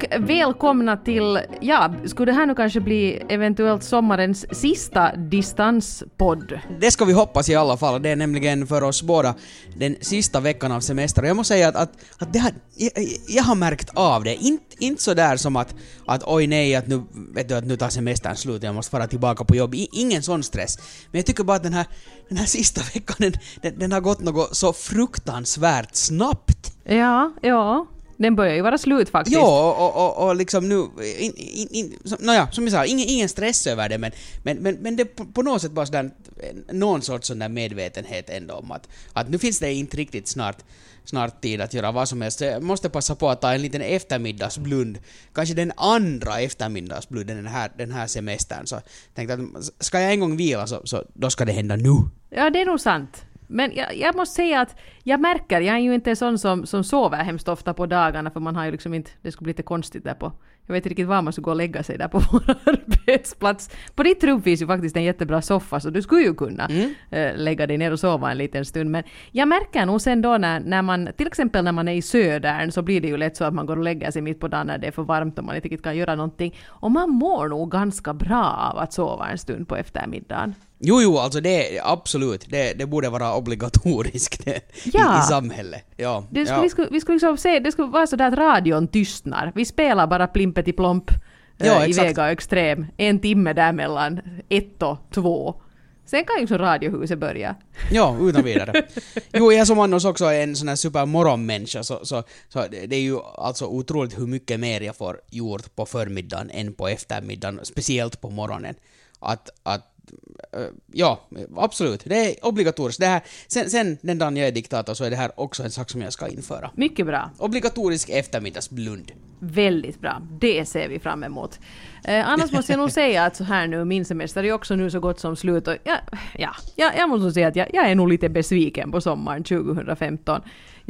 Och välkomna till, skulle det här nu kanske bli eventuellt sommarens sista distanspodd? Det ska vi hoppas i alla fall. Det är nämligen för oss båda den sista veckan av semester. Jag måste säga att det här, jag har märkt av det. Inte så där som att oj nej, att nu, vet du, att nu tar semestern slut, jag måste fara tillbaka på jobb. Ingen sån stress. Men jag tycker bara att den här sista veckan, den har gått något så fruktansvärt snabbt. Ja. Den börjar ju vara slut faktiskt. Ja, och liksom nu som jag sa, ingen stress över det, men det på något sätt bara sådär, någon sorts sån där medvetenhet ändå om att nu finns det inte riktigt snart tid att göra vad som helst. Jag måste passa på att ta en liten eftermiddagsblund, kanske den andra eftermiddagsblunden den här semestern, så tänkte att ska jag en gång vila så då ska det hända nu. Ja, det är nog sant. Men jag måste säga att jag märker, jag är ju inte en sån som sover hemskt ofta på dagarna, för man har ju liksom inte, det skulle bli lite konstigt där på, jag vet inte riktigt var man skulle gå och lägga sig där på vår arbetsplats. På ditt rum finns ju faktiskt en jättebra soffa, så du skulle ju kunna lägga dig ner och sova en liten stund. Men jag märker nog sen då när man, till exempel när man är i södern, så blir det ju lätt så att man går och lägger sig mitt på dagen när det är för varmt och man inte riktigt kan göra någonting. Och man mår nog ganska bra av att sova en stund på eftermiddagen. Jo, alltså det är absolut. Det borde vara obligatoriskt i samhället. Ja. Vi skulle liksom se, det skulle vara så där att radion tystnar. Vi spelar bara Plimpet i Plomp i Vega Extrem. 1 timme där mellan 1 och 2. Sen kan ju så radiohuset börja. Ja, utan vidare. Jo, jag som annars också är en sån här supermorgonmänniska, så det är ju alltså otroligt hur mycket mer jag får gjort på förmiddagen än på eftermiddagen, speciellt på morgonen. Ja, absolut. Det är obligatoriskt. Det här, sen den dagen jag är diktator så är det här också en sak som jag ska införa. Mycket bra. Obligatorisk eftermiddagsblund. Väldigt bra. Det ser vi fram emot. Annars måste jag nog säga att så här nu, min semester är också nu så gott som slut. Och jag måste säga att jag är nog lite besviken på sommaren 2015.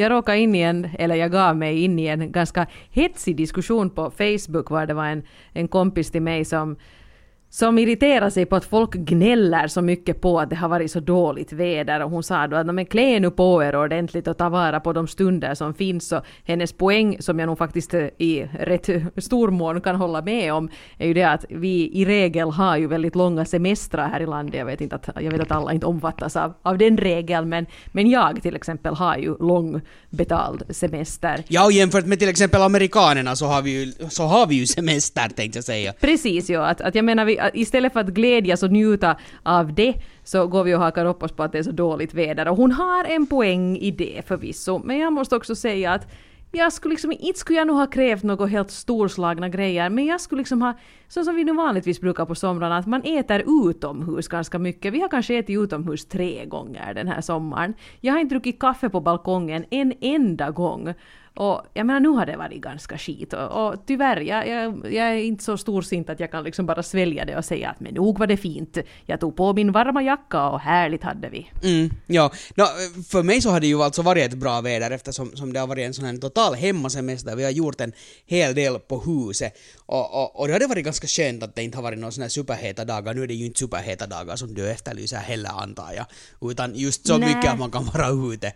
Jag gav mig in i en ganska hetsig diskussion på Facebook, var det var en kompis till mig som irriterar sig på att folk gnäller så mycket på att det har varit så dåligt väder, och hon sa då att klä nu på er ordentligt och ta vara på de stunder som finns. Och hennes poäng, som jag nog faktiskt i rätt stor mån kan hålla med om, är ju det att vi i regel har ju väldigt långa semestrar här i landet. Jag vet att alla inte omfattas av den regeln, men jag till exempel har ju lång betald semester. Ja, och jämfört med till exempel amerikanerna så har vi ju semester, tänkte jag säga. Precis, ja. Att jag menar, istället för att glädjas och njuta av det, så går vi och hakar upp oss på att det är så dåligt väder. Och hon har en poäng i det förvisso. Men jag måste också säga att inte skulle jag nog ha krävt något helt storslagna grejer, men jag skulle liksom ha, så som vi nu vanligtvis brukar på somrarna, att man äter utomhus ganska mycket. Vi har kanske ätit utomhus 3 gånger den här sommaren. Jag har inte druckit kaffe på balkongen en enda gång. Och jag menar, nu har det varit ganska skit. Och tyvärr, jag är inte så storsint att jag kan liksom bara svälja det och säga att men nog var det fint. Jag tog på min varma jacka och härligt hade vi. Ja, för mig så har det ju alltså varit ett bra väder, eftersom det har varit en sån här total hemmasemester. Vi har gjort en hel del på huset. Och det hade varit ganska skönt att det inte har varit någon sån här superheta dagar. Nu är det ju inte superheta dagar som du efterlyser heller, antar jag. Utan just så mycket att man kan vara ute.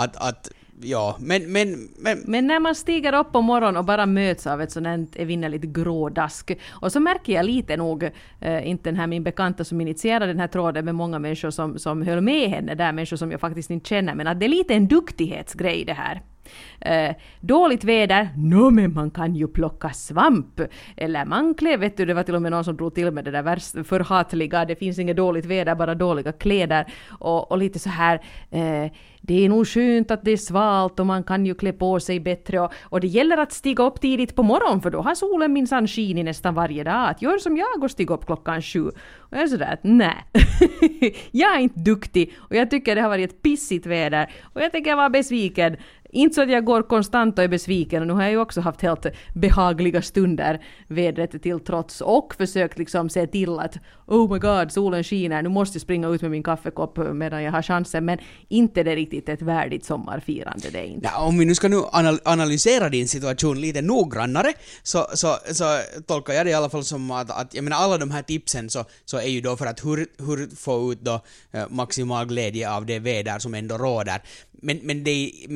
Ja, men när man stiger upp på morgonen och bara möts av ett sådant evinnerligt grådask, och så märker jag lite nog, inte den här min bekanta som initierade den här tråden med många människor som höll med henne, där människor som jag faktiskt inte känner, men att det är lite en duktighetsgrej det här. Dåligt väder, men man kan ju plocka svamp, eller man klä, vet du, det var till och med någon som drog till med det där förhatliga, det finns inget dåligt väder, bara dåliga kläder, och lite så här, det är nog skönt att det är svalt och man kan ju klä på sig bättre, och det gäller att stiga upp tidigt på morgonen, för då har solen minsann skin i nästan varje dag, att gör som jag och stiga upp 7:00. Och jag är sådär att nej, jag är inte duktig, och jag tycker det har varit ett pissigt väder, och jag tänker vara besviken. Inte så att jag går konstant och är besviken, och nu har jag ju också haft helt behagliga stunder vädret till trots, och försökt liksom se till att oh my god, solen skiner, nu måste jag springa ut med min kaffekopp medan jag har chansen, men inte det riktigt ett värdigt sommarfirande, det är inte. Ja, om vi nu ska nu analysera din situation lite noggrannare, så tolkar jag det i alla fall som att jag menar, alla de här tipsen så är ju då för att hur få ut då maximal glädje av det väder som ändå råder. Men i ditt fall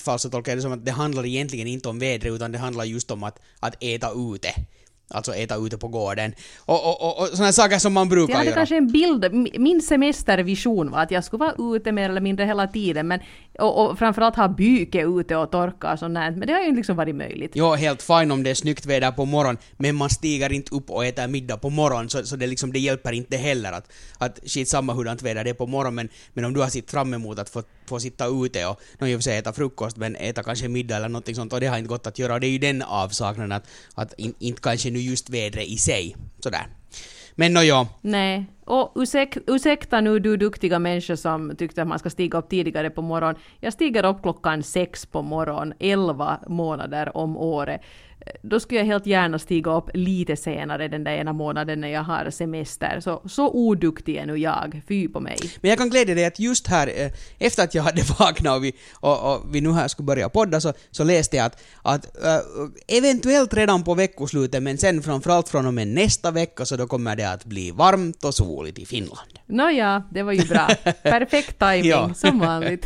fall så tolkar jag det som att det handlar egentligen inte om vädret utan det handlar just om att äta ute. Alltså äta ute på gården. Och sådana saker som man brukar göra. Jag hade kanske en bild, min semestervision var att jag skulle vara ute mer eller mindre hela tiden. Men, och framförallt ha byke ute och torka och sånt. Men det har ju inte liksom varit möjligt. Jo, helt fine om det är snyggt väder på morgon. Men man stiger inte upp och äter middag på morgon. Så det, liksom, det hjälper inte heller att skitsamma hurdant väder det är på morgon. Men om du har sitt fram emot att få sitta ute och någon för sig äta frukost men äta kanske middag eller något sånt. Och det har inte gått att göra. Och det är ju den avsaknaden att inte kanske nu just vädret i sig. Sådär. Men ja. Nej, och ursäkta nu du duktiga människor som tyckte att man ska stiga upp tidigare på morgon. Jag stiger upp 6:00 på morgon, 11 månader om året. Då skulle jag helt gärna stiga upp lite senare den där ena månaden när jag har semester. Så oduktig är nu jag, fy på mig. Men jag kan glädja dig att just här, efter att jag hade vaknat och vi nu här skulle börja podda så läste jag att eventuellt redan på veckoslutet men sen framförallt från och med nästa vecka så då kommer det att bli varmt och soligt i Finland. Nåja, det var ju bra. Perfekt timing, som vanligt.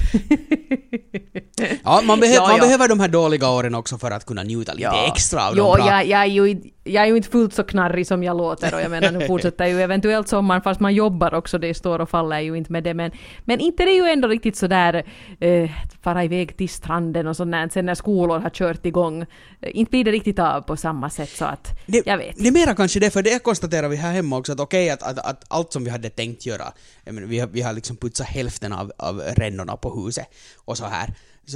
Ja, man behöver de här dåliga åren också för att kunna njuta lite extra av dem. Jag är ju inte fullt så knarrig som jag låter och jag menar nu fortsätter ju eventuellt sommaren fast man jobbar också, det står och faller ju inte med det men inte det är ju ändå riktigt sådär fara iväg till stranden och sånt sen när skolor har kört igång. Inte blir det riktigt av på samma sätt så att jag vet. Det är mera kanske det, för det konstaterar vi här hemma också att okej, att allt som vi hade tänkt göra, vi har liksom putsat hälften av rännorna på huset och så här. Så,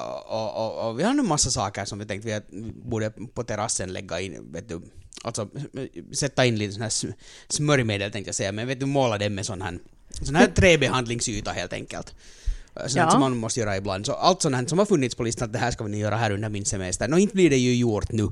och vi har nu massa saker som vi tänkte vi borde på terrassen lägga in, vet du, alltså sätta in lite sån här smörjmedel tänkte jag säga, men vet du, måla det med sån här träbehandlingsyta helt enkelt. Sånt som man måste göra ibland. Så allt sånt här som har funnits på listan att det här ska vi nu göra här under min semester. Nå, inte blir det ju gjort nu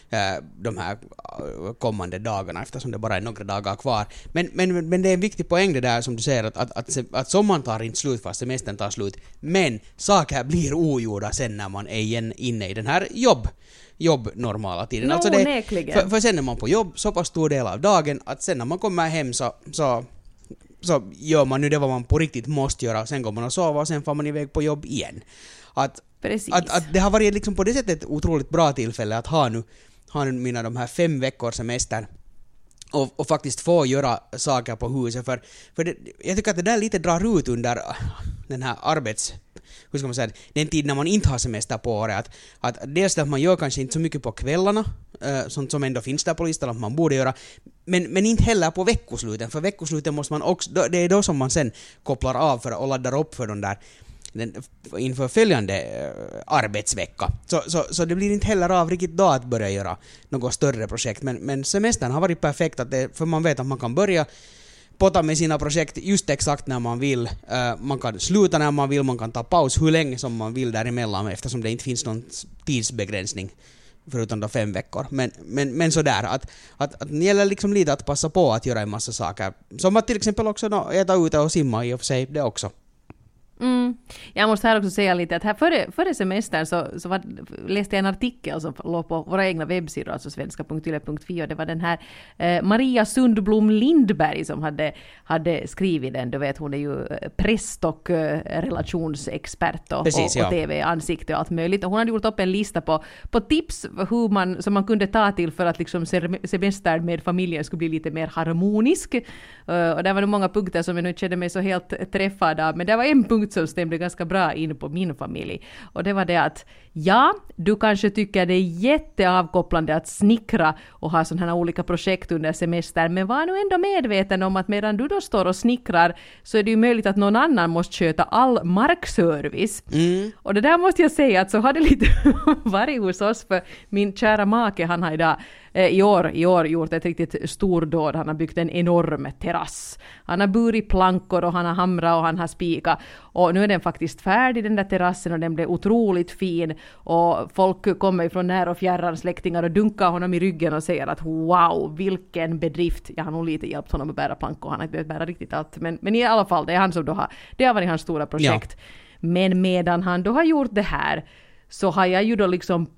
de här kommande dagarna eftersom det bara är några dagar kvar. Men det är en viktig poäng det där som du säger att sommaren tar inte slut fast semestern tar slut. Men saker blir ogjorda sen när man är igen inne i den här jobbnormala tiden. Alltså för sen är man på jobb så pass stor del av dagen att sen när man kommer hem så gör man nu det vad man på riktigt måste göra. Sen går man och sova och sen får man iväg på jobb igen. Att det har varit liksom på det sättet ett otroligt bra tillfälle att ha nu mina de här 5 veckors semester och faktiskt få göra saker på huset. För det, jag tycker att det där lite drar ut under den här hur ska man säga, den tid när man inte har semester på året. Att dels att man gör kanske inte så mycket på kvällarna, sånt som ändå finns där på listan att man borde göra, men inte heller på veckosluten, för veckosluten måste man också, det är då som man sen kopplar av för och laddar upp för inför följande arbetsvecka. Så det blir inte heller av riktigt då att börja göra något större projekt, men semestern har varit perfekt för man vet att man kan börja potta med sina projekt just exakt när man vill. Man kan sluta när man vill, man kan ta paus hur länge som man vill däremellan eftersom det inte finns någon tidsbegränsning förutom de 5 veckor. Men sådär att det gäller liksom lite att passa på att göra en massa saker. Som att till exempel också äta ute och simma i och för sig det också. Jag måste här också säga lite att här före semestern så läste jag en artikel som låg på våra egna webbsidor, alltså svenska.yle.fi, och det var den här Maria Sundblom Lindberg som hade skrivit den. Du vet, hon är ju präst och relationsexpert och tv-ansikte och allt möjligt. Och hon hade gjort upp en lista på tips som man kunde ta till för att liksom semester med familjen skulle bli lite mer harmonisk. Och där var det många punkter som jag nu kände mig så helt träffad av, men det var en punkt som stämde ganska bra in på min familj. Och det var det att du kanske tycker det är jätteavkopplande att snickra och ha sådana här olika projekt under semester, men var nu ändå medveten om att medan du då står och snickrar så är det ju möjligt att någon annan måste sköta all markservice. Och det där måste jag säga att så har det lite varit hos oss, för min kära make, han har idag i år gjort ett riktigt stordåd. Han har byggt en enorm terrass. Han har burit plankor och han har hamrat och han har spikat. Och nu är den faktiskt färdig, den där terrassen, och den blev otroligt fin. Och folk kommer från när och fjärran, släktingar, och dunkar honom i ryggen och säger att wow, vilken bedrift. Jag har nog lite hjälpt honom att bära plankor. Han har inte bära riktigt allt. Men i alla fall, det är han som det har varit hans stora projekt. Ja. Men medan han då har gjort det här så har jag ju då liksom packat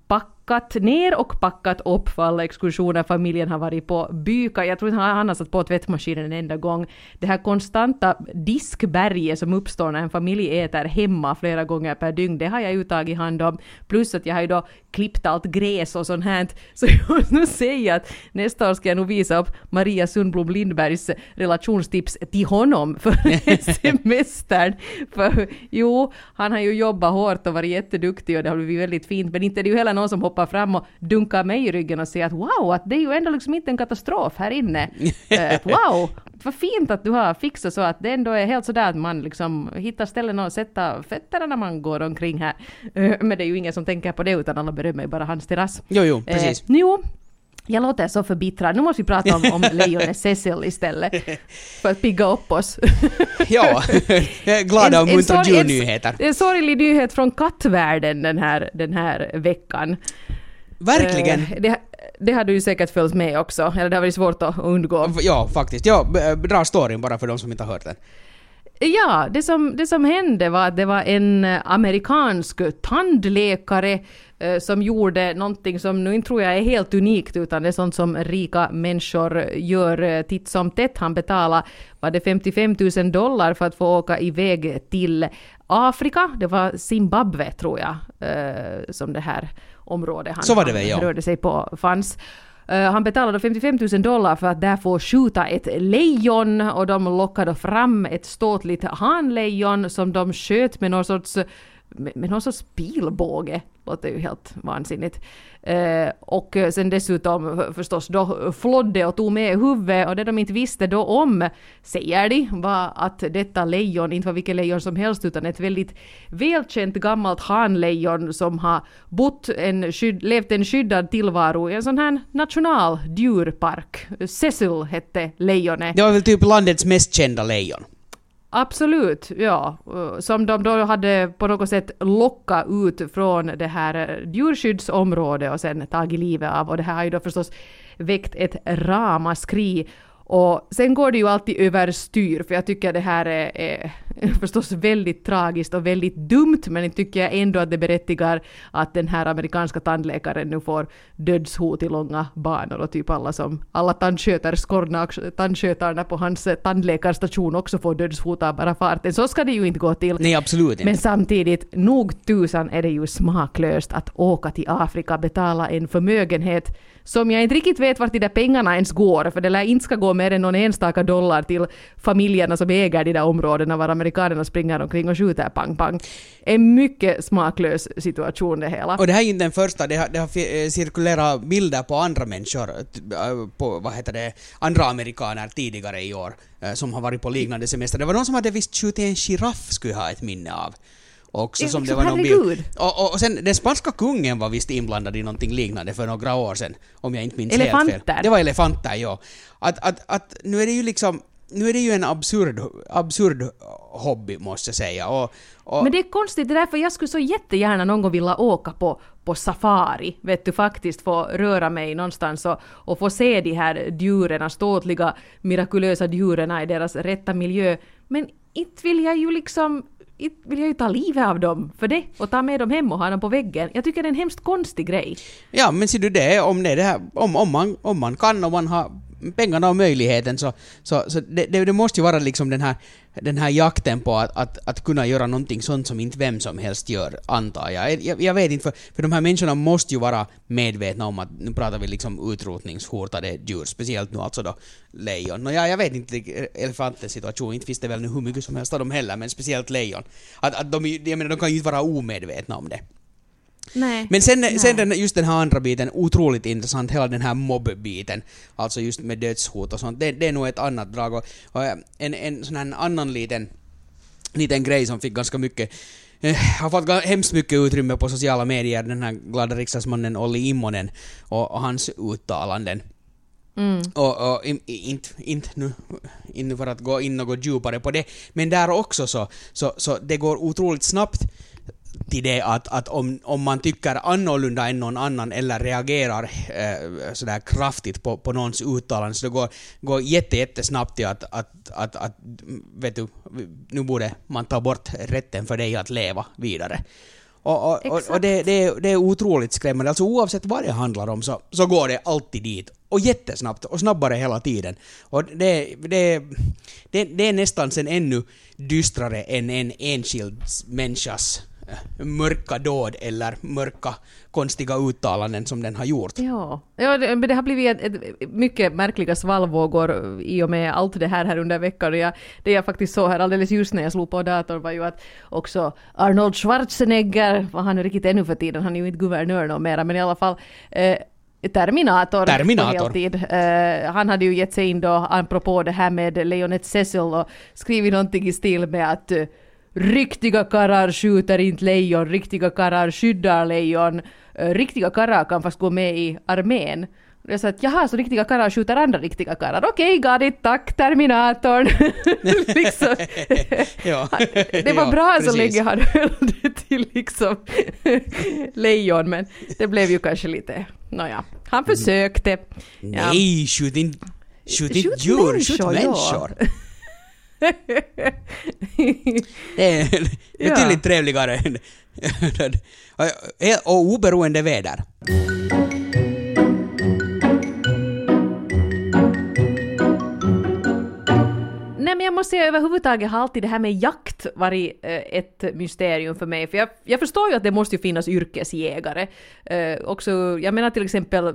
packat ner och packat upp för alla exkursioner familjen har varit på. Byka, jag tror inte han har satt på tvättmaskinen en enda gång. Det här konstanta diskberget som uppstår när en familj äter hemma flera gånger per dygn, det har jag ju tagit hand om. Plus att jag har ju då klippt allt gräs och sånt här. Så jag måste nog säga att nästa år ska jag nog visa upp Maria Sundblom Lindbergs relationstips till honom för semestern. För jo, han har ju jobbat hårt och varit jätteduktig och det har blivit väldigt fint. Men inte är det ju heller någon som hoppar fram och dunkar mig i ryggen och säger att wow, att det är ju ändå liksom inte en katastrof här inne. Wow, vad fint att du har fixat så att det ändå är helt sådär att man liksom hittar ställen att sätta fötterna när man går omkring här. Men det är ju ingen som tänker på det utan alla berömmer ju bara hans terrass. Jo, precis. Jo, jag låter så förbittrad. Nu måste vi prata om lejonet Cecil istället för att pigga upp oss. Ja, glada och muntra djurnyheter. En sorglig nyhet från kattvärlden den här veckan. Verkligen. Det har du ju säkert följt med också. Eller det har varit svårt att undgå. Ja, faktiskt. Jag drar storyn bara för de som inte har hört den. Ja, det som hände var att det var en amerikansk tandläkare som gjorde någonting som nu inte tror jag är helt unikt utan det är sånt som rika människor gör titt som tätt. Han betalade $55,000 för att få åka iväg till Afrika. Det var Zimbabwe tror jag som det här området han rörde sig på fanns. Han betalade $55,000 för att där få skjuta ett lejon och de lockade fram ett ståtligt hanlejon som de sköt med någon sorts pilbåge. Låter ju helt vansinnigt. Och sen dessutom förstås då flodde och tog med huvudet och det de inte visste då om, säger de, var att detta lejon inte var vilket lejon som helst utan ett väldigt välkänt gammalt hanlejon som har levt en skyddad tillvaro i en sån här national djurpark. Cecil hette lejonet. Det var väl typ landets mest kända lejon. Absolut, ja. Som de då hade på något sätt lockat ut från det här djurskyddsområdet och sen tagit livet av. Och det här har ju då förstås väckt ett ramaskri. Och sen går det ju alltid överstyr för jag tycker det här är förstås väldigt tragiskt och väldigt dumt men jag tycker ändå att det berättigar att den här amerikanska tandläkaren nu får dödshot i långa banor och typ alla tandskötarna på hans tandläkarstation också får dödshot av bara farten. Så ska det ju inte gå till. Nej, absolut inte. Men samtidigt, nog tusan är det ju smaklöst att åka till Afrika, betala en förmögenhet som jag inte riktigt vet vart de där pengarna ens går, för det lär inte ska gå mer än någon enstaka dollar till familjerna som äger de där områdena var amerikanerna springer omkring och skjuter pang-pang. En mycket smaklös situation det hela. Och det här är ju inte den första, det har cirkulerat bilder på andra människor, på andra amerikaner tidigare i år som har varit på liknande semester. Det var någon som hade visst skjutit en giraff, skulle ha ett minne av. Också som det var någon bild. Och sen den spanska kungen var visst inblandad i någonting liknande för några år sedan, om jag inte minns helt fel. Det var elefanter, ja. Att nu är det ju liksom, nu är det ju en absurd hobby måste jag säga. Men det är konstigt, det är därför jag skulle så jättegärna någon gång vilja åka på safari, vet du, faktiskt få röra mig någonstans och få se de här djuren, ståtliga, mirakulösa djuren i deras rätta miljö. Men inte vill jag ju ta livet av dem för det och ta med dem hem och ha dem på väggen. Jag tycker det är en hemskt konstig grej. Ja, men ser du det, om man kan och man har pengarna och möjligheten så det måste ju vara liksom den här jakten på att kunna göra någonting sånt som inte vem som helst gör, antar jag. Jag vet inte, för de här människorna måste ju vara medvetna om att nu pratar vi liksom utrotningshotade djur, speciellt nu alltså då lejon. Och jag vet inte elefantens situation, inte finns det väl nu hur mycket som helst av dem heller, men speciellt lejon. Att de kan ju inte vara omedvetna om det. Nej. Men sen just den här andra biten, otroligt intressant, hela den här mobb-biten, alltså just med dödshot och sånt, det är nog ett annat drag. Och en sån här annan liten grej som fick ganska mycket, har fått hemskt mycket utrymme på sociala medier, den här glada riksdagsmannen Olli Immonen och hans uttalanden. Och inte nu för att gå in något djupare på det, men där också så det går otroligt snabbt till det att om man tycker annorlunda än någon annan eller reagerar sådär kraftigt på någons uttalande, så det går jättesnabbt till att vet du, nu borde man ta bort rätten för dig att leva vidare. Och det är otroligt skrämmande. Alltså oavsett vad det handlar om så går det alltid dit. Och jättesnabbt och snabbare hela tiden. Och det är nästan sen ännu dystrare än en enskild människas mörka dåd eller mörka konstiga uttalanden som den har gjort. Ja, men det har blivit ett mycket märkliga svallvågor i och med allt det här under veckan. Och det jag faktiskt såg här alldeles just när jag slog på datorn var ju att också Arnold Schwarzenegger, vad han är riktigt ännu för tiden, han är ju inte guvernör någon mera, men i alla fall Terminator. På heltid. Han hade ju gett sig in då apropå det här med lejonet Cecil och skrivit någonting i stil med att riktiga karrar skjuter inte lejon, riktiga karrar skyddar lejon, riktiga karrar kan fast gå med i armén. Jag sa att jaha, så riktiga karrar skjuter andra riktiga karrar. Okej, got it, tack, Terminatorn. Liksom. Ja. Det var bra precis. så länge han höll det till liksom lejon, men det blev ju kanske lite, nåja, han försökte. Ja. Nej, skjut inte djur, skjut människor. Ja. Det är tydligt trevligare och oberoende väder. Nej, men jag måste säga överhuvudtaget har alltid det här med jakt varit ett mysterium för mig. För jag förstår ju att det måste ju finnas yrkesjägare. Också, jag menar till exempel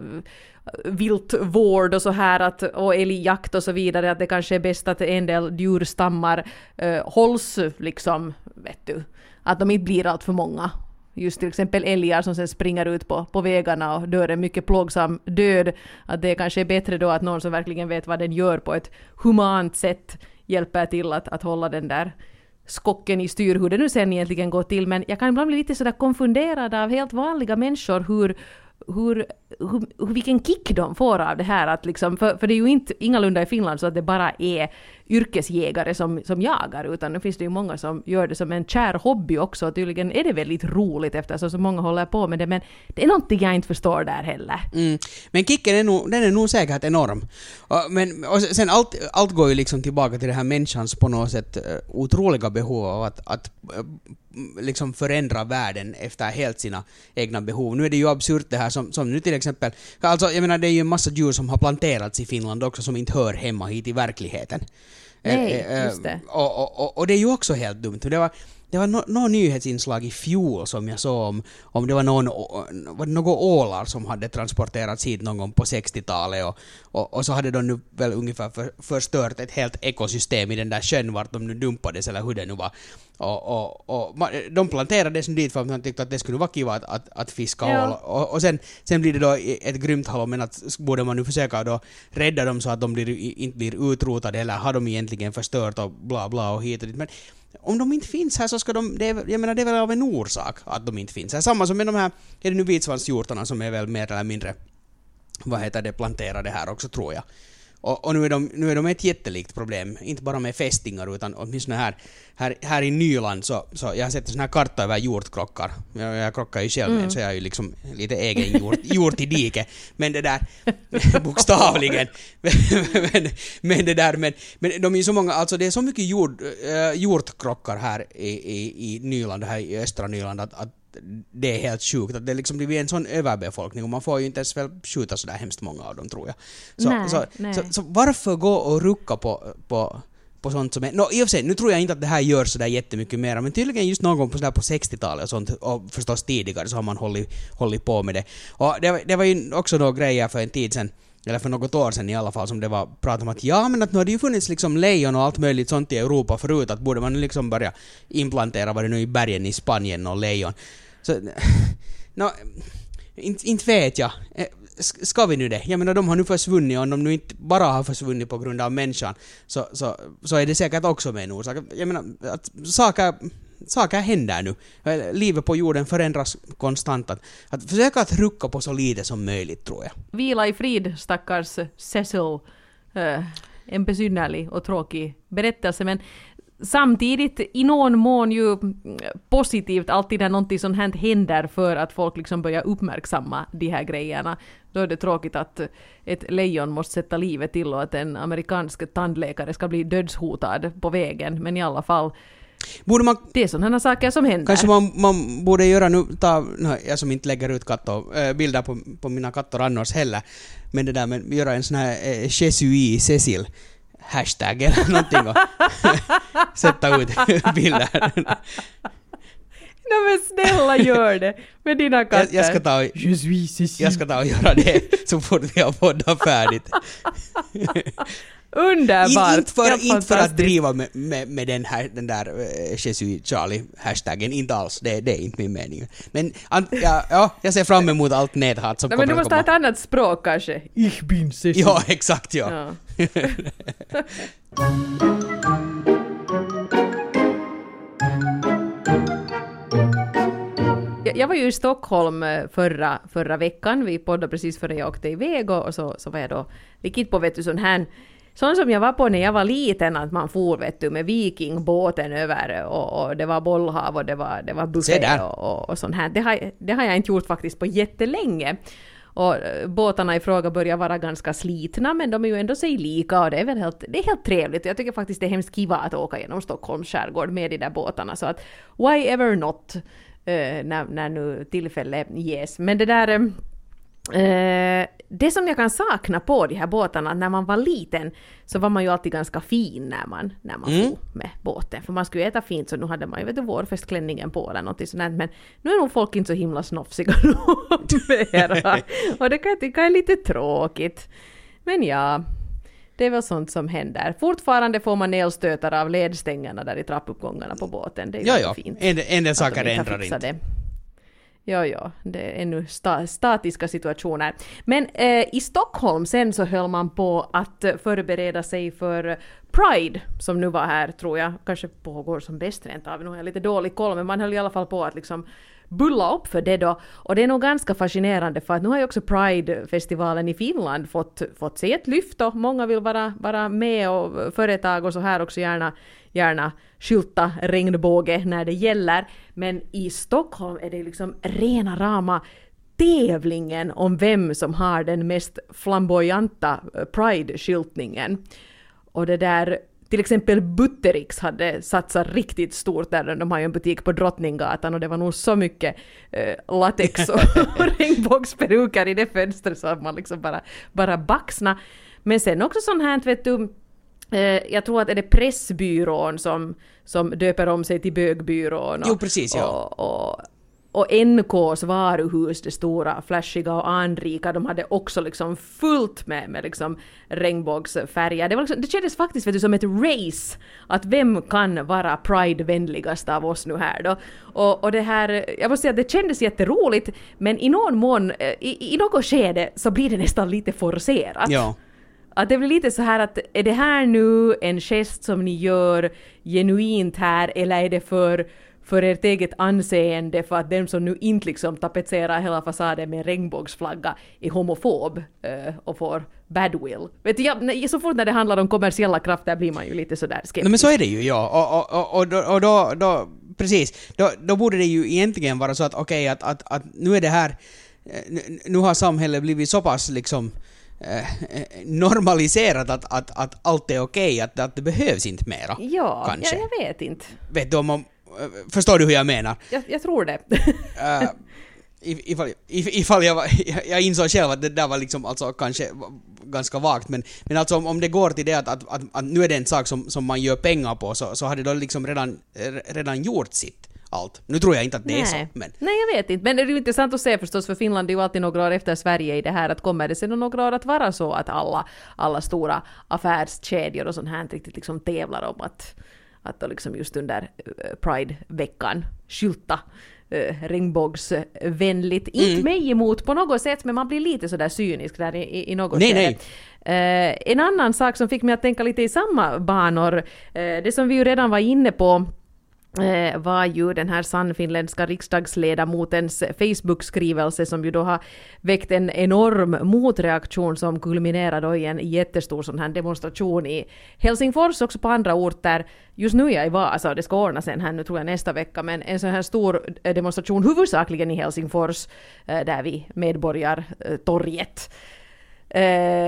viltvård och så här och älgjakt och så vidare, att det kanske är bäst att en del djurstammar hålls liksom, vet du, att de inte blir allt för många. Just till exempel älgar som sen springer ut på vägarna och dör en mycket plågsam död. Att det kanske är bättre då att någon som verkligen vet vad den gör på ett humant sätt hjälper till att hålla den där skocken i styr, hur det nu sen egentligen går till. Men jag kan ibland bli lite sådär konfunderad av helt vanliga människor vilken kick de får av det här. Att liksom, för det är ju inte ingalunda i Finland så att det bara är yrkesjägare som jagar, utan det finns det ju många som gör det som en kär hobby också. Och tydligen är det väldigt roligt eftersom så många håller på med det, men det är någonting jag inte förstår där heller. Men kicken är nog säkert enorm. Och sen allt går ju liksom tillbaka till det här människans på något sätt otroliga behov av att liksom förändra världen efter helt sina egna behov. Nu är det ju absurt det här som nu till exempel, alltså jag menar det är ju en massa djur som har planterats i Finland också som inte hör hemma hit i verkligheten. Nej, just det. Och det är ju också helt dumt. Det var någon nyhetsinslag i fjol som jag såg om det var några ålar som hade transporterats hit någon gång på 60-talet och så hade de nu väl ungefär förstört ett helt ekosystem i den där sjön vart de nu dumpades eller hur det nu var. Och de planterades dit för att man tyckte att det skulle vara kiva att fiska ål. Och sen blir det då ett grymt hallå, men att borde man nu försöka då rädda dem så att de inte blir utrotade eller har de egentligen förstört och bla bla och hit och dit. Men om de inte finns här så ska jag menar det är väl av en orsak att de inte finns här. Samma som med de här, är det nu vitsvanshjortarna som är väl mer eller mindre, planterade här också tror jag. Och nu är de ett jättelikt problem, inte bara med fästingar utan åtminstone här i Nyland så jag har sett en sån här karta över hjortkrockar. Jag krockar ju själv med så jag är ju liksom lite egen hjort i diket. Men det där, bokstavligen. men det där, men de är ju så många, alltså det är så mycket hjortkrockar här i Nyland, här i östra Nyland att det är helt sjukt att det liksom blir en sån överbefolkning och man får ju inte ens väl skjuta så där hemskt många av dem tror jag. Så varför gå och rucka på sånt som är... i och för sig, nu tror jag inte att det här gör så där jättemycket mer, men tydligen just någon gång på 60-talet och sånt, och förstås tidigare så har man hållit på med det. Och det var ju också några grejer för en tid sedan, eller för något år sedan i alla fall, som det var prat om att men att nu har det ju funnits liksom lejon och allt möjligt sånt i Europa förut, att borde man liksom börja implantera vad det nu i bergen i Spanien och lejon. Så, inte vet jag. Ska vi nu det? Jag menar, de har nu försvunnit, och om de nu inte bara har försvunnit på grund av människan så är det säkert också med en orsak. Jag menar, att saker händer nu. Livet på jorden förändras konstant. Att försöka att rucka på så lite som möjligt, tror jag. Vila i frid, stackars Cecil. En besynnerlig och tråkig berättelse, men samtidigt i någon mån ju positivt alltid när någonting sånt här händer för att folk liksom börjar uppmärksamma de här grejerna. Då är det tråkigt att ett lejon måste sätta livet till och att en amerikansk tandläkare ska bli dödshotad på vägen, men i alla fall. Borde man, Det är sådana saker som händer. kanske man borde göra nu, jag som inte lägger ut bilder på mina katter annars heller, men det där med göra en sån här Jesui Cecil hashtag eller någonting och sätta ut bilder. Men snälla gör det med dina katter. Jag ska ta och göra det så fort vi har poddat färdigt. Underbart. Inte för att driva med den där Jesui Charlie hashtaggen, inte alls. Det är inte min mening. Men jag ser fram emot allt näthat som kommer att komma. Men du måste ha ett annat språk kanske. Ich bin Cecil. Ja, exakt, ja. Jag var ju i Stockholm förra veckan. Vi poddade precis före jag åkte iväg och så var jag då likit på sån som jag var på när jag var liten, att man for med vikingbåten över och det var bollhav och det var buffé och sånt här. Det har jag inte gjort faktiskt på jättelänge. Och båtarna i fråga börjar vara ganska slitna, men de är ju ändå sig lika och det är helt trevligt. Jag tycker faktiskt det är hemskt kiva att åka genom Stockholms skärgård med de där båtarna, så att why ever not när nu tillfälle ges. Men det där det som jag kan sakna på de här båtarna, när man var liten så var man ju alltid ganska fin när man for med båten, för man skulle äta fint, så nu hade man ju vårfestklänningen på eller något sånt, men nu är nog folk inte så himla snofsiga mera, och det kan jag tycka är lite tråkigt, men ja, det är väl sånt som händer. Fortfarande får man elstötar av ledstängerna där i trappuppgångarna på båten. Det är ju fint. En del saker ändrar inte. Det. Ja, det är ännu statiska situationer. Men i Stockholm sen så höll man på att förbereda sig för Pride, som nu var här, tror jag. Kanske pågår som bäst rent av. Nu har jag lite dålig koll, men man höll i alla fall på att liksom bulla upp för det då. Och det är nog ganska fascinerande, för att nu har ju också Pride-festivalen i Finland fått se ett lyft, och många vill vara med, och företag och så här också gärna skylta regnbåge när det gäller. Men i Stockholm är det liksom rena rama tävlingen om vem som har den mest flamboyanta Pride-skyltningen. Och det där, till exempel Buttericks hade satsat riktigt stort där. De har ju en butik på Drottninggatan och det var nog så mycket latex och regnbågsperuker i det fönstret så att man liksom bara baxna. Men sen också sån här, vet du, jag tror att är det Pressbyrån som döper om sig till Bögbyrån. Jo, precis, ja. Och NKs varuhus, det stora, flashiga och anrika, de hade också liksom fullt med liksom regnbågsfärger. Det kändes faktiskt, vet du, som ett race, att vem kan vara Pride-vänligast av oss nu här då. Och det här, jag måste säga att det kändes jätteroligt, men i någon mån, i något skede så blir det nästan lite forcerat. Ja. Att det blir lite så här att, är det här nu en gest som ni gör genuint här, eller är det för ert eget anseende, för att den som nu inte liksom tapetserar hela fasaden med en regnbågsflagga är homofob och får badwill. Vet du, så fort när det handlar om kommersiella krafter blir man ju lite sådär skeptisk. Men så är det ju, ja. Och då precis, då borde det ju egentligen vara så att okej, att nu är det här, nu har samhället blivit så pass liksom normaliserat att allt är okej, att det behövs inte mera. Ja, kanske. Jag vet inte. Vet du förstår du hur jag menar? Jag tror det. Ifall jag insåg själv att det där var liksom alltså kanske ganska vagt, men alltså om det går till det att nu är det en sak som man gör pengar på, så har det då liksom redan gjort sitt allt. Nu tror jag inte att det är så. Men. Nej, jag vet inte. Men det är ju intressant att se förstås, för Finland är ju alltid några år efter Sverige i det här, att kommer det sen några år att vara så att alla stora affärskedjor och sånt här riktigt liksom tävlar om att då liksom just under Pride-veckan skylta regnbågsvänligt. Inte mig emot på något sätt, men man blir lite sådär cynisk där i något sätt. Nej. En annan sak som fick mig att tänka lite i samma banor, det som vi ju redan var inne på, var ju den här sannfinländska riksdagsledamotens Facebook-skrivelse, som ju då har väckt en enorm motreaktion som kulminerade i en jättestor sån här demonstration i Helsingfors, också på andra orter. Just nu är jag i Vasa, det ska ordna sen här nu tror jag nästa vecka, men en sån här stor demonstration huvudsakligen i Helsingfors, där vid Medborgartorget.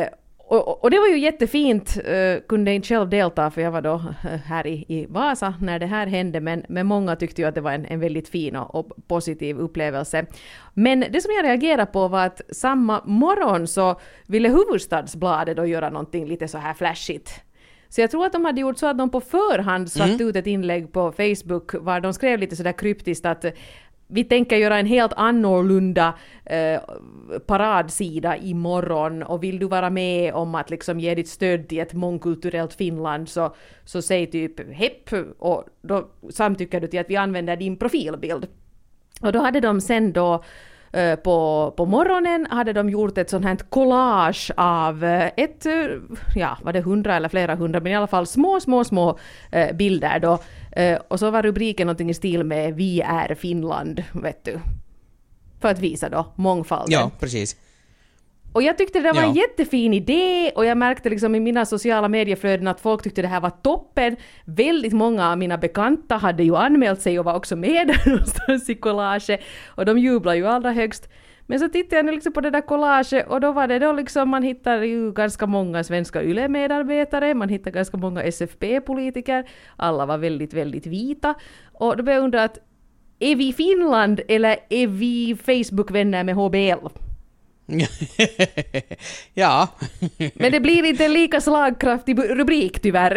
Och det var ju jättefint, kunde inte själv delta för jag var då här i Vasa när det här hände, men många tyckte ju att det var en väldigt fin och positiv upplevelse. Men det som jag reagerade på var att samma morgon så ville Hufvudstadsbladet då göra någonting lite så här flashigt. Så jag tror att de hade gjort så att de på förhand satt ut ett inlägg på Facebook var de skrev lite sådär kryptiskt att vi tänker göra en helt annorlunda paradsida imorgon och vill du vara med om att liksom ge ditt stöd till ett mångkulturellt Finland så säg typ hepp och då samtycker du till att vi använder din profilbild. Och då hade de sen då på morgonen hade de gjort ett sånt här collage av var det 100 eller flera hundra, men i alla fall små bilder då. Och så var rubriken någonting i stil med Vi är Finland, vet du. För att visa då mångfalden. Ja, precis. Och jag tyckte det var en jättefin idé och jag märkte liksom i mina sociala medieflöden att folk tyckte det här var toppen. Väldigt många av mina bekanta hade ju anmält sig och var också med där någonstans i collage och de jublar ju allra högst. Men så tittade jag nu liksom på det där collage och då var det då liksom, man hittar ju ganska många svenska YLE-medarbetare, man hittar ganska många SFP-politiker, alla var väldigt, väldigt vita. Och då började jag undra att är vi Finland eller är vi Facebook-vänner med HBL? Ja. Men det blir inte en lika slagkraftig rubrik tyvärr.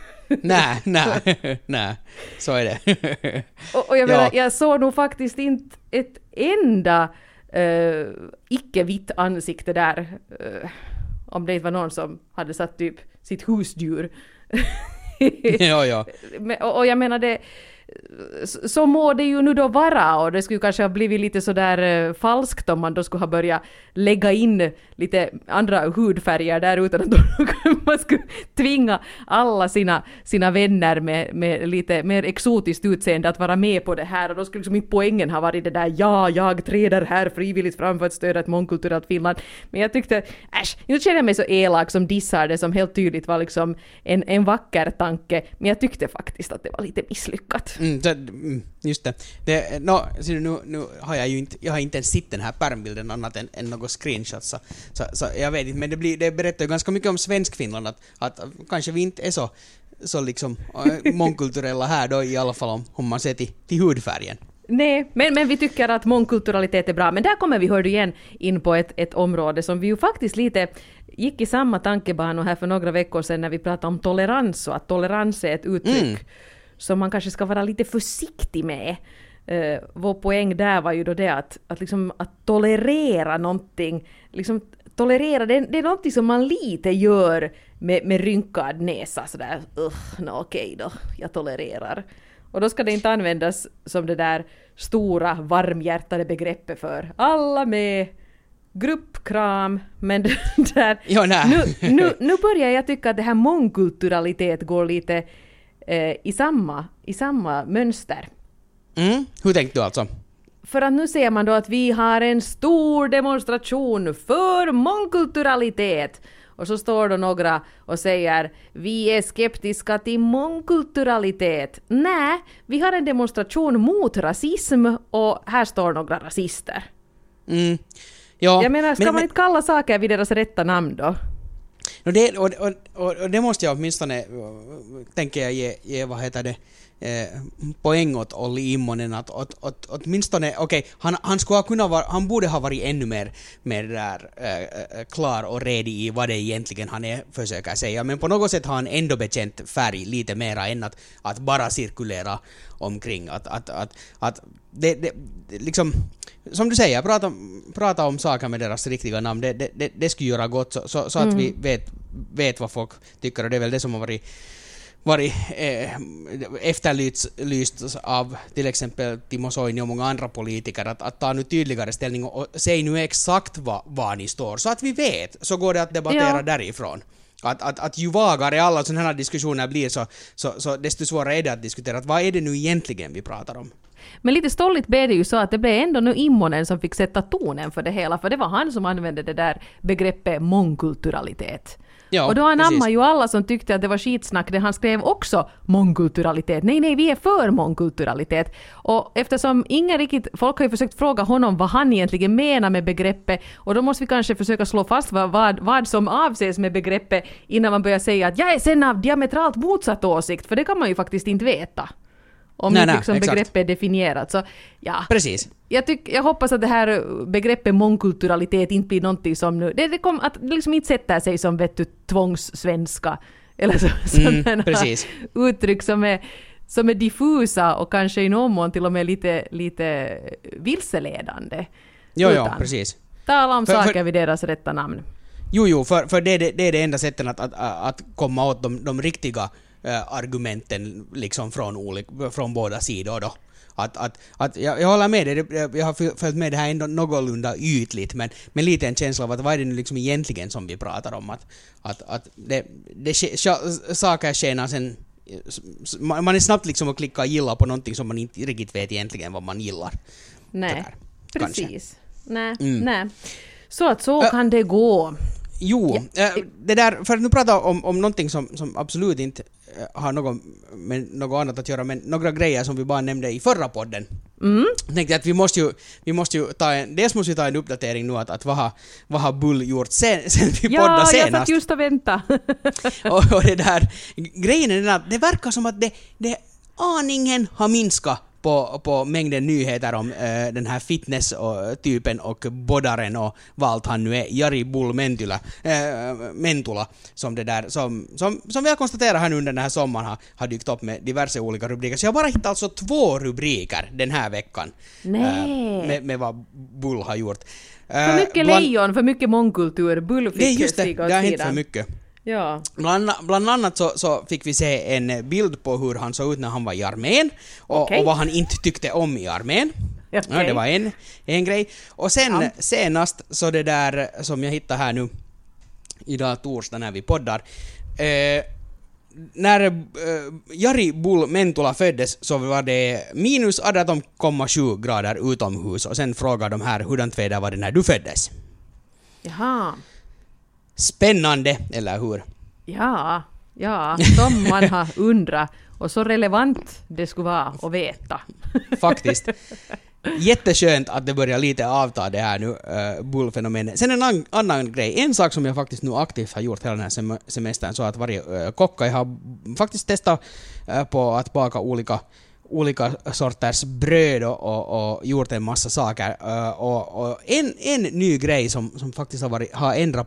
Nej, så är det. och jag menar, jag såg nog faktiskt inte ett enda icke-vitt ansikte där. Om det inte var någon som hade satt typ sitt husdjur. Ja. Och jag menar det, så må det ju nu då vara och det skulle kanske ha blivit lite sådär falskt om man då skulle ha börjat lägga in lite andra hudfärger där utan att man skulle tvinga alla sina vänner med lite mer exotiskt utseende att vara med på det här och då skulle liksom inte poängen ha varit det där jag träder här frivilligt fram för att stödja ett mångkulturellt Finland. Men jag tyckte, nu känner jag mig så elak som dissar det som helt tydligt var liksom en vacker tanke, men jag tyckte faktiskt att det var lite misslyckat. Just det. Nu har jag har inte ens sett den här pärmbilden annat än något screenshot så jag vet inte, men det berättar ju ganska mycket om svensk Finland att kanske vi inte är så liksom mångkulturella här då i alla fall om man ser till hudfärgen. Nej, men vi tycker att mångkulturalitet är bra. Men där kommer vi hörde igen in på ett område som vi ju faktiskt lite gick i samma tankebanor här för några veckor sedan när vi pratade om tolerans och att tolerans är ett uttryck som man kanske ska vara lite försiktig med. Vår poäng där var ju då det att tolerera någonting, liksom tolerera, det är någonting som man lite gör med rynkad näsa sådär, okej då, jag tolererar. Och då ska det inte användas som det där stora varmhjärtade begreppet för alla med gruppkram, men där, nu börjar jag tycka att det här mångkulturalitet går lite i samma mönster. Hur tänkte du alltså? För att nu ser man då att vi har en stor demonstration för mångkulturalitet. Och så står då några och säger vi är skeptiska till mångkulturalitet. Nej, vi har en demonstration mot rasism och här står några rasister. Ja, jag menar, ska man inte kalla saker vid deras rätta namn då? Och det måste jag åtminstone, tänker jag, ge vad heter det, poäng åt Olli Immonen att åtminstone, okej, han borde ha varit ännu mer där klar och redig i vad det egentligen han försöker säga, men på något sätt har han ändå bekänt färg lite mera än att bara cirkulera omkring, att det liksom, som du säger, prata om saker med deras riktiga namn, det skulle göra gott så att vi vet vad folk tycker, och det är väl det som har varit efterlyst av till exempel Timo Soini och många andra politiker att ta nu tydligare ställning och säg nu exakt var ni står så att vi vet, så går det att debattera därifrån. Att ju vagare alla sådana här diskussioner blir så desto svårare är det att diskutera att vad är det nu egentligen vi pratar om. Men lite stolligt blev det ju så att det blev ändå nu Immonen som fick sätta tonen för det hela, för det var han som använde det där begreppet mångkulturalitet. Ja, och då anammar precis. ju alla som tyckte att det var skitsnack det han skrev också mångkulturalitet. Nej, vi är för mångkulturalitet. Och eftersom ingen riktigt, folk har ju försökt fråga honom vad han egentligen menar med begreppet, och då måste vi kanske försöka slå fast vad som avses med begreppet innan man börjar säga att jag är sen av diametralt motsatt åsikt, för det kan man ju faktiskt inte veta. Om liksom begreppet är definierat. Så, ja. Precis. Jag hoppas att det här begreppet mångkulturalitet inte blir någonting som nu... Det kommer att liksom inte sätta sig som tvångssvenska. Eller precis. Uttryck som är diffusa och kanske i någon mån till och med lite vilseledande. Jo, precis. Tala om saker vid deras rätta namn. Jo, för det är det enda sättet att komma åt de riktiga argumenten liksom från båda sidor då. Att jag håller med dig, jag har följt med det här ändå någorlunda ytligt, men lite en känsla av att vad är det nu liksom egentligen som vi pratar om, att saker tjänar sen, man är snabbt liksom att klicka gilla på någonting som man inte riktigt vet egentligen vad man gillar. Nej, där, precis. Nej. Så kan det gå. Jo, det där, för att nu prata om någonting som absolut inte har med något annat att göra, men några grejer som vi bara nämnde i förra podden. Jag tänkte att vi måste ju dels måste vi ta en uppdatering nu att vad har Bull gjort sen vi poddade senast. Ja, jag satt just och vänta. och det där, grejen är den att det verkar som att det aningen har minskat på mängden nyheter om den här fitness-typen och boddaren och vad allt han nu är, Jari Bull Mentula, som det där, som vi har konstaterat här nu under den här sommaren har dykt upp med diverse olika rubriker. Så jag har bara hittat alltså 2 rubriker den här veckan med vad Bull har gjort. För mycket lejon, för mycket mångkultur, Bull fick stiga åt det har hänt för mycket. Ja. Bland annat så fick vi se en bild på hur han såg ut när han var i armén och vad han inte tyckte om i armén. Okay. Ja, det var en grej. Och sen senast så det där som jag hittade här nu idag torsdag när vi poddar. När Jari Bull Mentula föddes så var det minus 18,7 grader utomhus, och sen frågade de här hurdant väder var det när du föddes. Jaha. Spännande, eller hur? Ja, som man har undrat. Och så relevant det skulle vara att veta. Faktiskt. Jätteskönt att det börjar lite avta det här nu, bullfenomenet. Sen en annan grej. En sak som jag faktiskt nu aktivt har gjort hela den här semestern, så att varje kocka, jag har faktiskt testat på att baka olika sorters bröd och gjort en massa saker. Och en ny grej som faktiskt har ändrat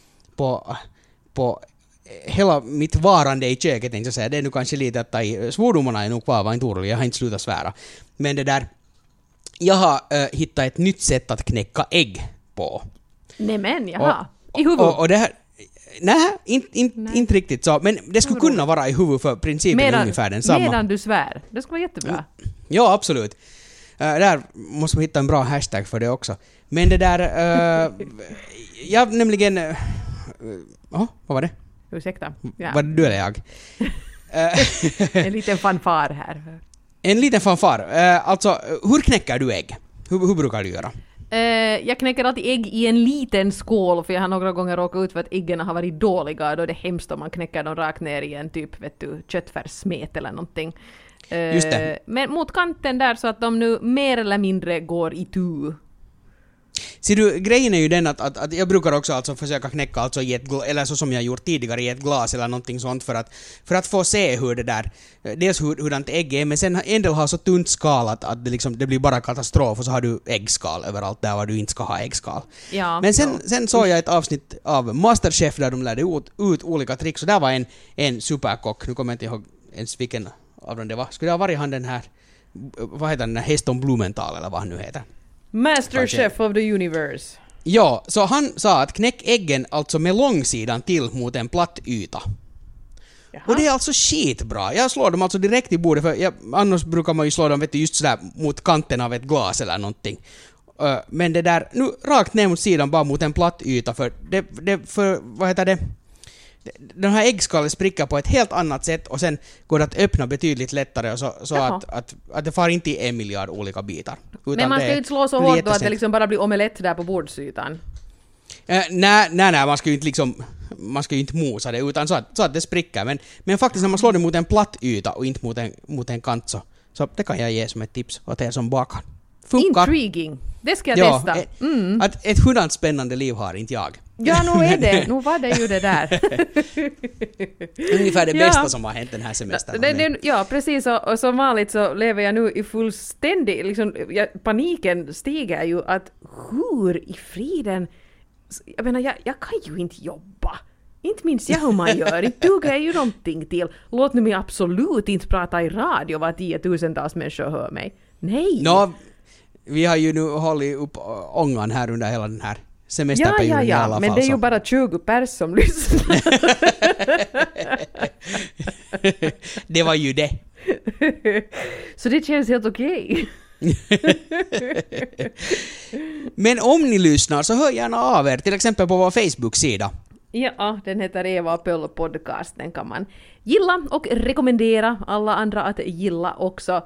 på hela mitt varande i köket, tänkte jag säga. Det är nu kanske lite att ta i. Svordomarna är nog kvar, var inte orolig, jag har inte slutat svära. Men det där, jag har hittat ett nytt sätt att knäcka ägg på. Nämen, jaha. I huvudet? Och det här, nej, inte riktigt så. Men det skulle kunna vara i huvudet, för principen är ungefär den samma. Medan du svär. Det skulle vara jättebra. Ja, absolut. Där måste man hitta en bra hashtag för det också. Men det där... jag nämligen... vad var det? Ursäkta. Ja. Var det du eller jag? En liten fanfar här. En liten fanfar. Alltså, hur knäcker du ägg? Hur brukar du göra? Jag knäcker alltid ägg i en liten skål, för jag har några gånger råkat ut för att äggen har varit dåliga. Då är det hemskt om man knäcker dem rakt ner i en typ köttfärssmet eller någonting. Just det. Men mot kanten där, så att de nu mer eller mindre går i tu. Ser du, grejen är ju den att jag brukar också alltså försöka knäcka alltså i ett eller så som jag gjort tidigare i ett glas eller någonting sånt, för att få se hur det där, dels hurdant ägg är, men sen en del har så tunt skal att det blir bara katastrof, och så har du äggskal överallt där var du inte ska ha äggskal. Ja, men sen såg jag ett avsnitt av Masterchef där de lärde ut olika tricks, och där var en superkock, nu kommer jag inte ihåg ens vilken av dem det var. Skulle det ha varit han den här, vad heter den här, Heston Blumenthal eller vad han nu heter? Masterchef of the universe. Ja, så han sa att knäck äggen alltså med långsidan till mot en platt yta. Jaha. Och det är alltså skitbra. Jag slår dem alltså direkt i bordet, för annars brukar man ju slå dem just sådär mot kanten av ett glas eller någonting. Men det där, nu rakt ner mot sidan bara mot en platt yta, för vad heter det? Den här äggskalet spricker på ett helt annat sätt, och sen går det att öppna betydligt lättare, och så att det far inte i 1 miljard olika bitar. Men man ska ju inte slå så hårt då att det liksom bara blir omelett där på bordsytan. Nej, man ska ju inte mosa det utan så att det spricker. Men faktiskt när man slår det mot en platt yta och inte mot en kant så det kan jag ge som ett tips åt er som bakar. Funkar. Intriguing. Det ska jag testa. Att ett hurdant spännande liv har inte jag. Ja, nog är det. Nog var det ju det där. Ungefär det bästa som har hänt den här semestern. Ja, precis. Och som vanligt så lever jag nu i fullständig... Liksom, paniken stiger ju att hur i friden... Jag menar, jag kan ju inte jobba. Inte minns jag hur man gör. Inte duger jag ju någonting till. Låt mig absolut inte prata i radio vad 10 000-tals människor hör mig. Nej! Vi har ju nu hållit upp ångan här under hela den här semesterperioden i alla fall. Men det är ju bara 20 pers som lyssnar. Det var ju det. Så det känns helt okej. Men om ni lyssnar så hör gärna av er, till exempel på vår Facebook-sida. Ja, den heter Eva och Pöll podcast. Den kan man gilla och rekommendera alla andra att gilla också.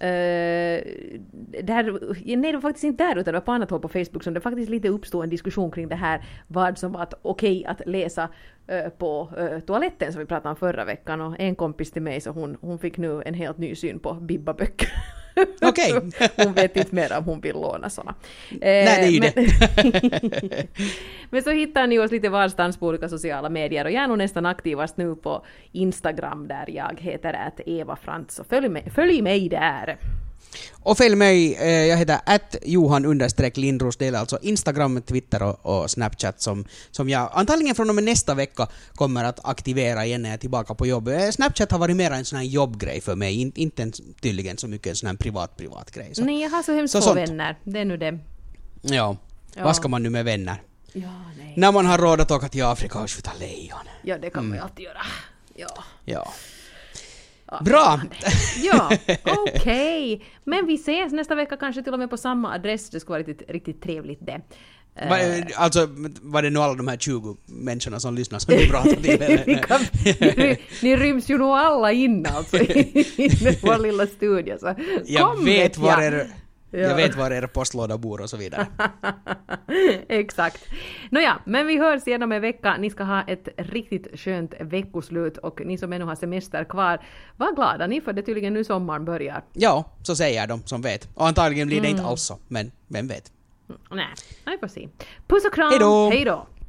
Det var faktiskt inte där utan det var på annat håll på Facebook som det faktiskt lite uppstod en diskussion kring det här vad som var okej att läsa på toaletten som vi pratade om förra veckan, och en kompis till mig så hon fick nu en helt ny syn på Bibba-böcker. Okej. Hon vet inte mer om hon vill låna såna. Nej, det är ju det. Men så hittar ni oss lite varstans på olika sociala medier, och jag är nog nästan aktivast nu på Instagram där jag heter @Eva-Frantz, så följ mig där. Och följ mig, jag heter @Johan_Lindros, det är alltså Instagram, Twitter och Snapchat som jag antagligen från och med nästa vecka kommer att aktivera igen när jag är tillbaka på jobb. Snapchat har varit mer en sån här jobbgrej för mig, inte tydligen så mycket en sån här privat grej. Så. Nej, jag har så hemskt få vänner, det är nu det. Ja, vad ska man nu med vänner? Ja, nej. När man har råd att åka till Afrika och skjuta lejon. Ja, det kan man ju alltid göra. Ja. Bra! Ja, okej. Men vi ses nästa vecka kanske till och med på samma adress. Det skulle vara riktigt trevligt det. Alltså, var det nu alla de här 20 människorna som lyssnar som du pratar till? Ni ryms ju nog alla in alltså i vår lilla studio. Så. Jag vet var er postlåda bor och så vidare. Exakt. Nåja, men vi hörs igen om en vecka. Ni ska ha ett riktigt skönt veckoslut, och ni som ännu har semester kvar, var glada ni, för det tydligen nu sommaren börjar. Ja, så säger de som vet. Och antagligen blir det inte alls så, men vem vet. Nej, får se. Puss och kram, hejdå! Hejdå.